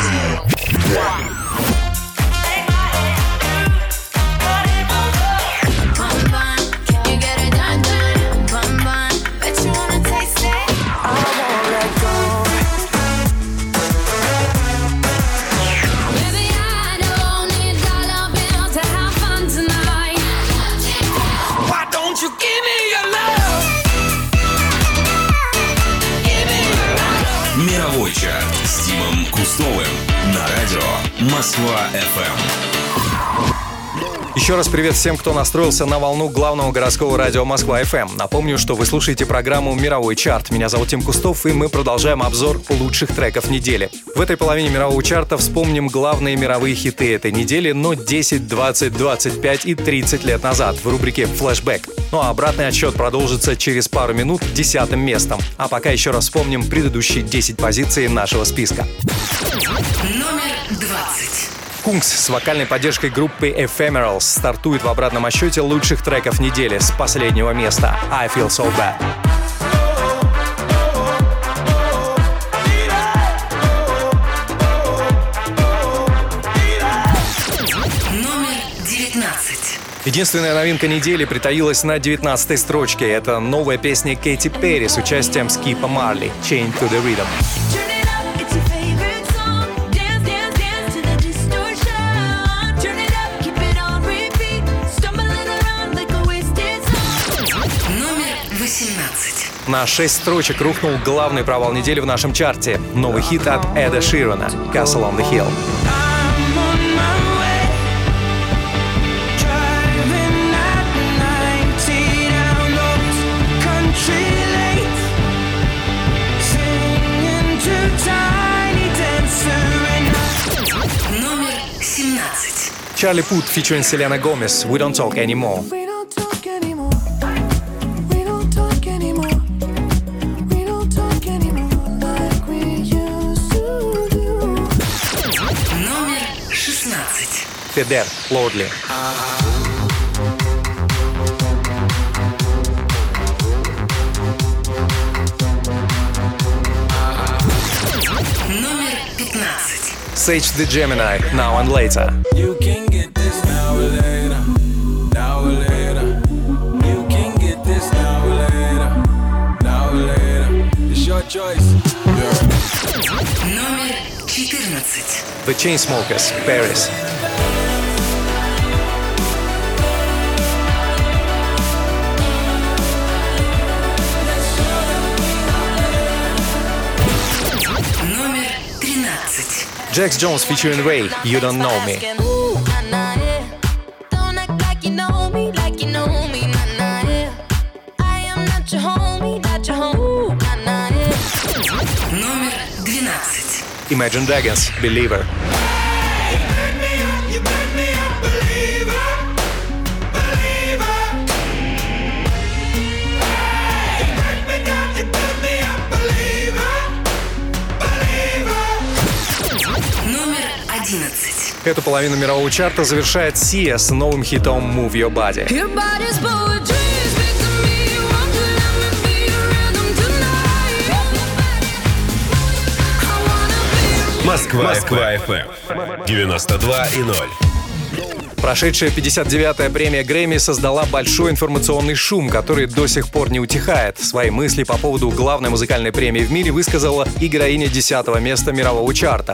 Мировой чарт с Тимом Кустовым на радио Москва-ФМ. Еще раз привет всем, кто настроился на волну главного городского радио Москва-ФМ. Напомню, что вы слушаете программу «Мировой чарт». Меня зовут Тим Кустов, и мы продолжаем обзор лучших треков недели. В этой половине мирового чарта вспомним главные мировые хиты этой недели, но 10, 20, 25 и 30 лет назад в рубрике «Флэшбэк». Ну а обратный отсчет продолжится через пару минут 10-м местом. А пока еще раз вспомним предыдущие 10 позиций нашего списка. Номер 20. Kungs с вокальной поддержкой группы Ephemerals стартует в обратном отсчете лучших треков недели с последнего места «I Feel So Bad». Номер 19. Единственная новинка недели притаилась на 19-й строчке. Это новая песня Кэти Перри с участием Скипа Марли «Chained to the Rhythm». На 6 строчек рухнул главный провал недели в нашем чарте. Новый хит от Эда Ширана «Castle on the Hill». Номер 17. Чарли Пут featuring Селена Гомес «We Don't Talk Anymore». Федер, Лордли. Номер 15. Sage the Gemini, Now and Later. You can get this now or later, now or later. You can get this now or later, now or later. It's your choice. Номер 14. The Chainsmokers, Paris. Номер 13. Jax Jones featuring Ray, You Don't Know Me. Номер 12. Imagine Dragons, Believer. Номер 11. Эту половину мирового чарта завершает Sia с новым хитом Move Your Body. Москва-ФМ 92,0. Прошедшая 59-я премия Грэмми создала большой информационный шум, который до сих пор не утихает. Свои мысли по поводу главной музыкальной премии в мире высказала и героиня 10-го места мирового чарта.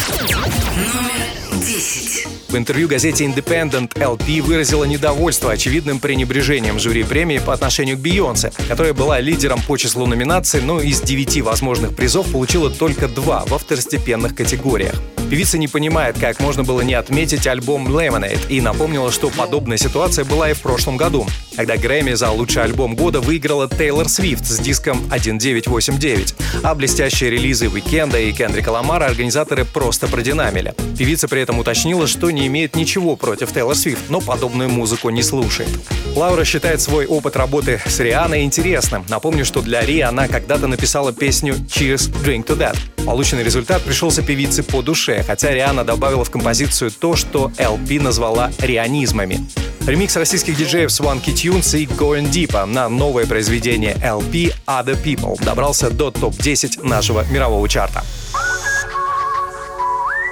Номер 10. В интервью газете Independent LP выразила недовольство очевидным пренебрежением жюри премии по отношению к Бейонсе, которая была лидером по числу номинаций, но из 9 возможных призов получила только 2 во второстепенных категориях. Певица не понимает, как можно было не отметить альбом Lemonade, и напомнила, что подобная ситуация была и в прошлом году, когда Грэмми за лучший альбом года выиграла Тейлор Свифт с диском 1989, а блестящие релизы Уикенда и Кендрика Ламара организаторы просто продинамили. Певица при этом уточнила, что не имеет ничего против Тейлор Свифт, но подобную музыку не слушает. Лаура считает свой опыт работы с Рианой интересным. Напомню, что для Ри она когда-то написала песню «Cheers, Drink to That». Полученный результат пришелся певице по душе, хотя Риана добавила в композицию то, что LP назвала рианизмами. Ремикс российских диджеев Swanky Tunes и Going Deep на новое произведение LP Other People добрался до топ-10 нашего мирового чарта.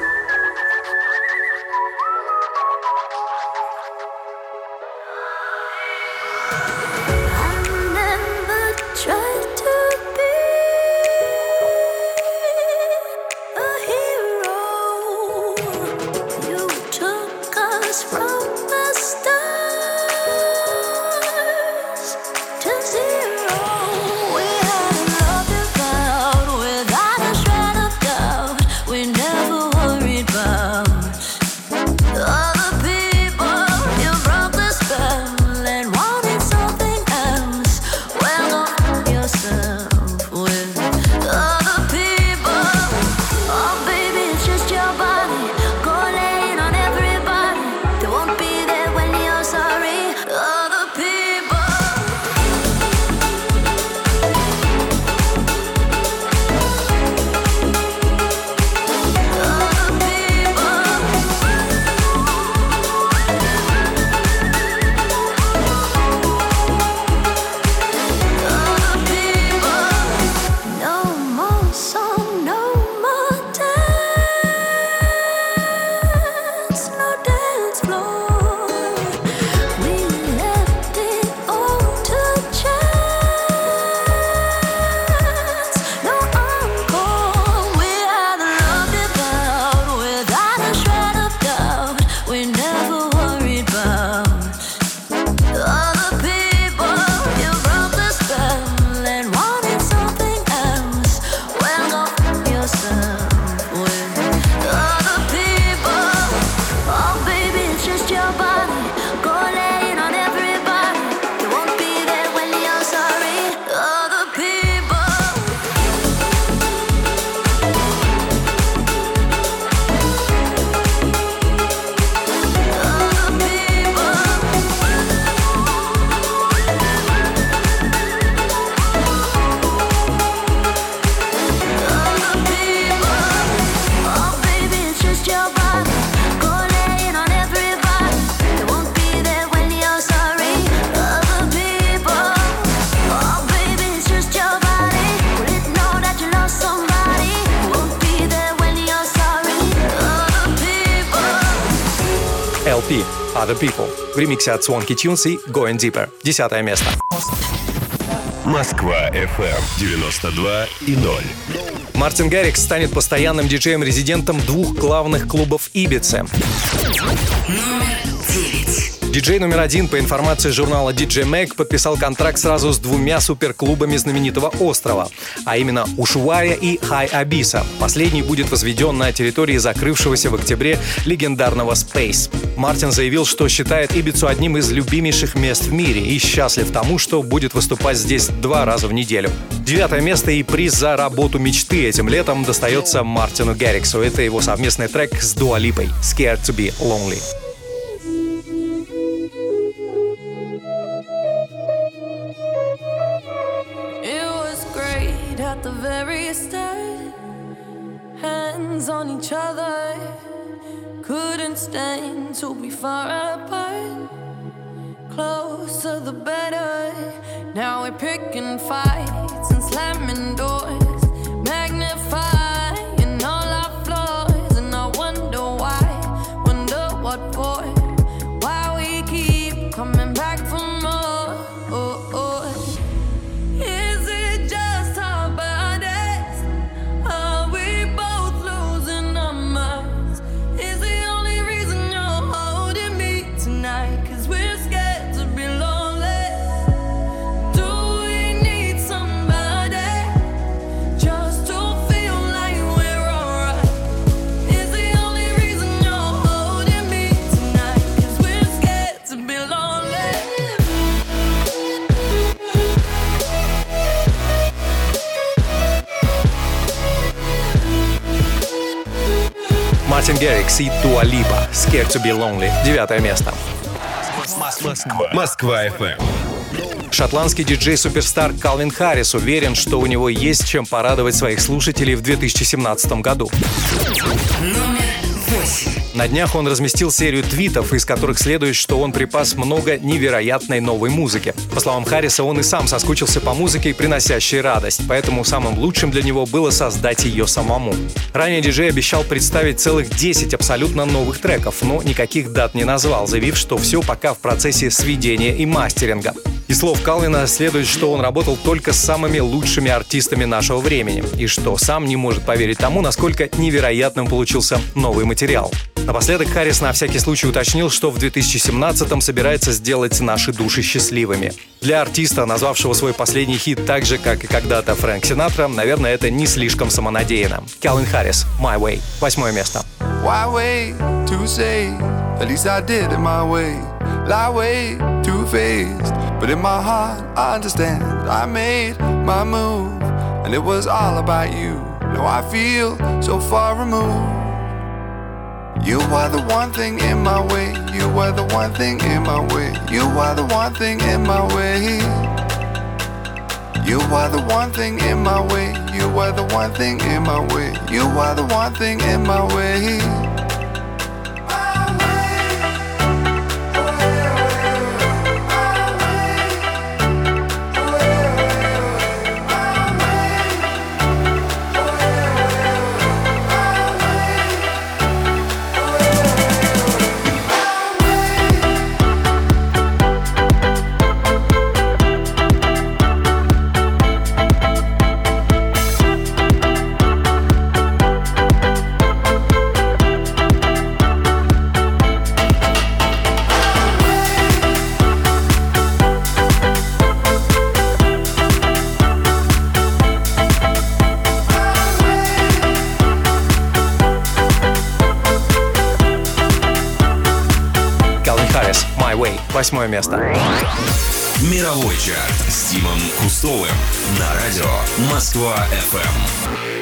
yourself with other people. Oh baby, it's just your body. Go laying on everybody. You won't be there when you're sorry. Other people. Other people. LP Other People в ремиксе от Swanky Tunes и Going Deeper. 10 место. Москва FM 92,0. Мартин Гаррикс станет постоянным диджеем-резидентом двух главных клубов Ибицы. Номер 9. Диджей номер 1, по информации журнала DJ Mag, подписал контракт сразу с двумя суперклубами знаменитого острова, а именно Ушуая и Хай Абиса. Последний будет возведен на территории закрывшегося в октябре легендарного Space. Мартин заявил, что считает Ибицу одним из любимейших мест в мире и счастлив тому, что будет выступать здесь 2 раза в неделю. 9 место и приз за работу мечты этим летом достается Мартину Гарриксу. Это его совместный трек с Дуа Липой «Scared to be Lonely». At the very start, hands on each other, couldn't stand to be far apart. Closer the better. Now we're picking fights and slamming doors, magnifying all our flaws. And I wonder why, wonder what for, why we keep coming back for more. Oh, oh. Мартин Гаррикс и Дуа Липа «Scared to be Lonely». 9 место. Москва FM. Шотландский диджей-суперстар Калвин Харрис уверен, что у него есть чем порадовать своих слушателей в 2017 году. Номер 8. На днях он разместил серию твитов, из которых следует, что он припас много невероятной новой музыки. По словам Харриса, он и сам соскучился по музыке, приносящей радость, поэтому самым лучшим для него было создать ее самому. Ранее диджей обещал представить целых 10 абсолютно новых треков, но никаких дат не назвал, заявив, что все пока в процессе сведения и мастеринга. Из слов Калвина следует, что он работал только с самыми лучшими артистами нашего времени, и что сам не может поверить тому, насколько невероятным получился новый материал. Напоследок Харрис на всякий случай уточнил, что в 2017-м собирается сделать наши души счастливыми. Для артиста, назвавшего свой последний хит так же, как и когда-то Фрэнк Синатра, наверное, это не слишком самонадеянно. Калвин Харрис, «My Way», 8 место. Why wait to say? At least I did it my way. Lie way too faced, but in my heart I understand. I made my move, and it was all about you. Now I feel so far removed. You are the one thing in my way. You are the one thing in my way. You are the one thing in my way. You are the one thing in my way. You are the one thing in my way. You are the one thing in my way. Way. 8 место. Мировой чарт с Тимом Кустовым на радио Москва FM.